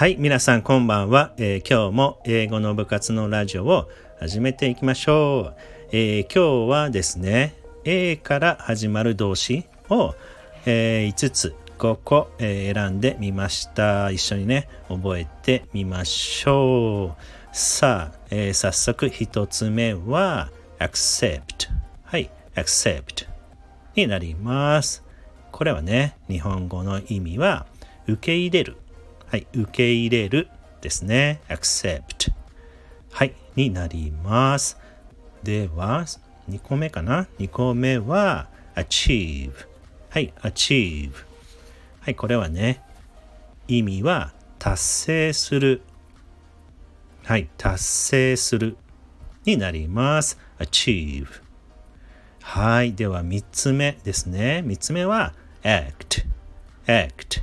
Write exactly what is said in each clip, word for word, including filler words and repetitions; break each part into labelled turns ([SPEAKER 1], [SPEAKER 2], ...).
[SPEAKER 1] はい、皆さんこんばんは、えー、今日も英語の部活のラジオを始めていきましょう、えー、今日はですね A から始まる動詞を、えー、いつつごこ、えー、選んでみました。一緒にね覚えてみましょう。さあ、えー、早速一つ目は accept。 はい、 accept になります。これはね日本語の意味は受け入れる、はい、受け入れるですね。 accept はいになります。ではにこめかな。にこめは achieve。 はい、 achieve。 はい、これはね意味は達成する、はい、達成するになります。 achieve。 はい、ではみっつめですね。みっつめは act。 act、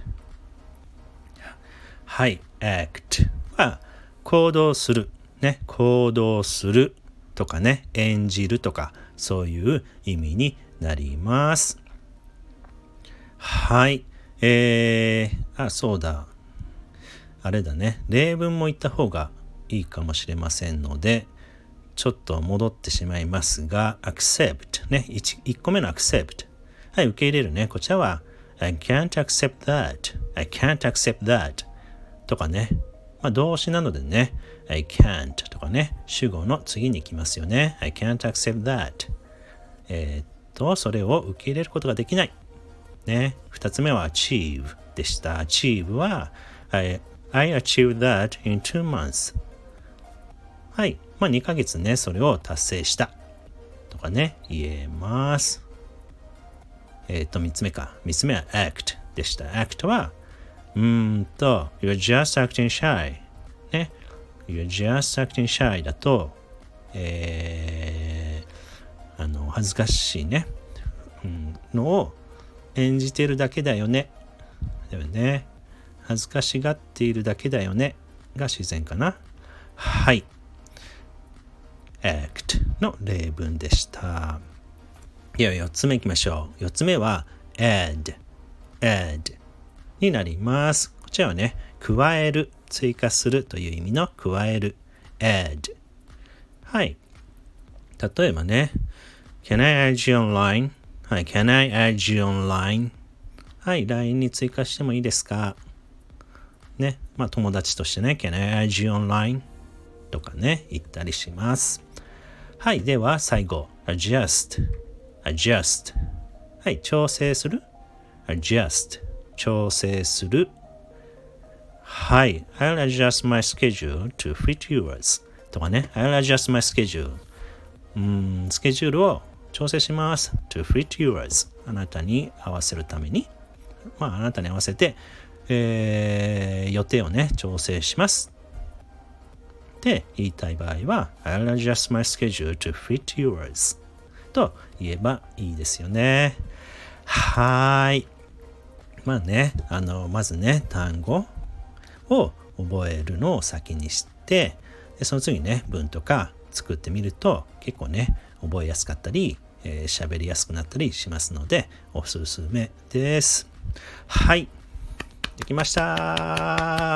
[SPEAKER 1] はい、act は行動する、ね、行動するとかね、演じるとか、そういう意味になります。はい、えー、あ、そうだ。あれだね、例文も言った方がいいかもしれませんので、ちょっと戻ってしまいますが、accept ね、1, いっこめの accept。はい、受け入れるね。こちらは I can't accept that。 I can't accept that。とかね、まあ、動詞なのでね I can't とかね主語の次に来ますよね。 I can't accept that。 えー、っとそれを受け入れることができないね。二つ目は achieve でした。 achieve は I, I achieved that in two months。 はい、まあにかげつねそれを達成したとかね言えます。えー、っと三つ目か。三つ目は act でした。 act はうーんと You're just acting shy ね。 You're just acting shy だと、えー、あの恥ずかしいね、うん、のを演じてるだけだよね。だよね。恥ずかしがっているだけだよねが自然かな。はい、 act の例文でした。ではよっつめいきましょう。よっつめは add addになります。こちらはね、加える、追加するという意味の加える、add。はい。例えばね、Can I add you online？ はい、Can I add you online？ はい、ライン に追加してもいいですか？ね、まあ友達としてね、Can I add you online？ とかね、言ったりします。はい、では最後、adjust。adjust。はい、調整する、adjust。調整する。はい。I'll adjust my schedule to fit yours とかね。I'll adjust my schedule。うーん、スケジュールを調整します。to fit yours。あなたに合わせるために。まあ、あなたに合わせて、えー、予定をね、調整します。って言いたい場合は、I'll adjust my schedule to fit yours と言えばいいですよね。はい。まあね、あのまずね単語を覚えるのを先にして、でその次ね文とか作ってみると結構ね覚えやすかったり、えー、喋りやすくなったりしますのでおすすめです。はい、できました。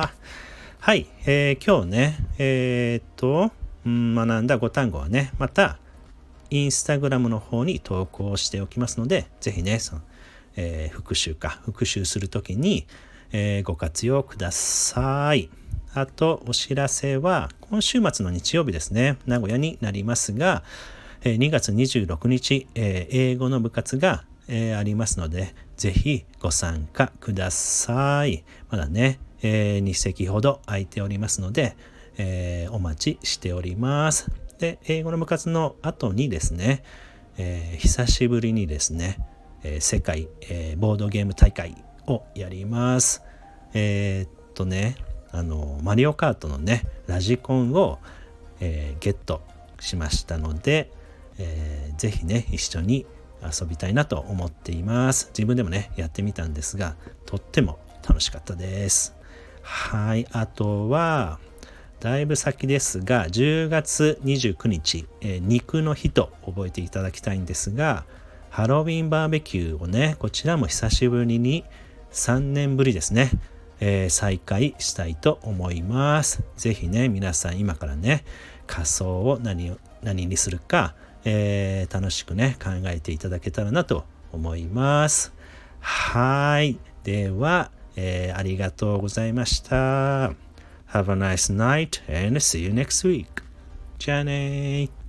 [SPEAKER 1] はい、えー、今日ねえー、っと、うん、学んだご単語はねまたインスタグラムの方に投稿しておきますので、ぜひねそのえー、復習か復習するときに、えー、ご活用ください。あとお知らせは今週末の日曜日ですね、名古屋になりますが、えー、にがつにじゅうろくにち、えー、英語の部活が、えー、ありますのでぜひご参加ください。まだね、えー、に席ほど空いておりますので、えー、お待ちしております。で英語の部活の後にですね、えー、久しぶりにですね世界、えー、ボードゲーム大会をやります。えー、っとね、あのマリオカートのねラジコンを、えー、ゲットしましたので、えー、ぜひね一緒に遊びたいなと思っています。自分でもねやってみたんですがとっても楽しかったです。はい、あとはだいぶ先ですがじゅうがつにじゅうくにち、えー、肉の日と覚えていただきたいんですが、ハロウィンバーベキューをねこちらも久しぶりにさんねんぶりですね、 えー、再開したいと思います。ぜひね、皆さん今からね、仮想を何を何にするか、えー、楽しくね考えていただけたらなと思います。はい。では、えー、ありがとうございました。Have a nice night and see you next week. じゃあねー。